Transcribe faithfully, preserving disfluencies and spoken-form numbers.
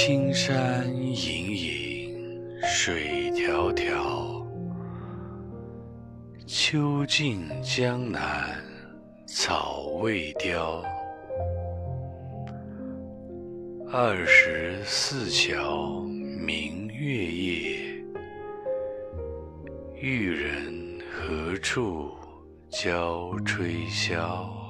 青山隐隐水迢迢，秋尽江南草未凋。二十四桥明月夜，玉人何处教吹箫。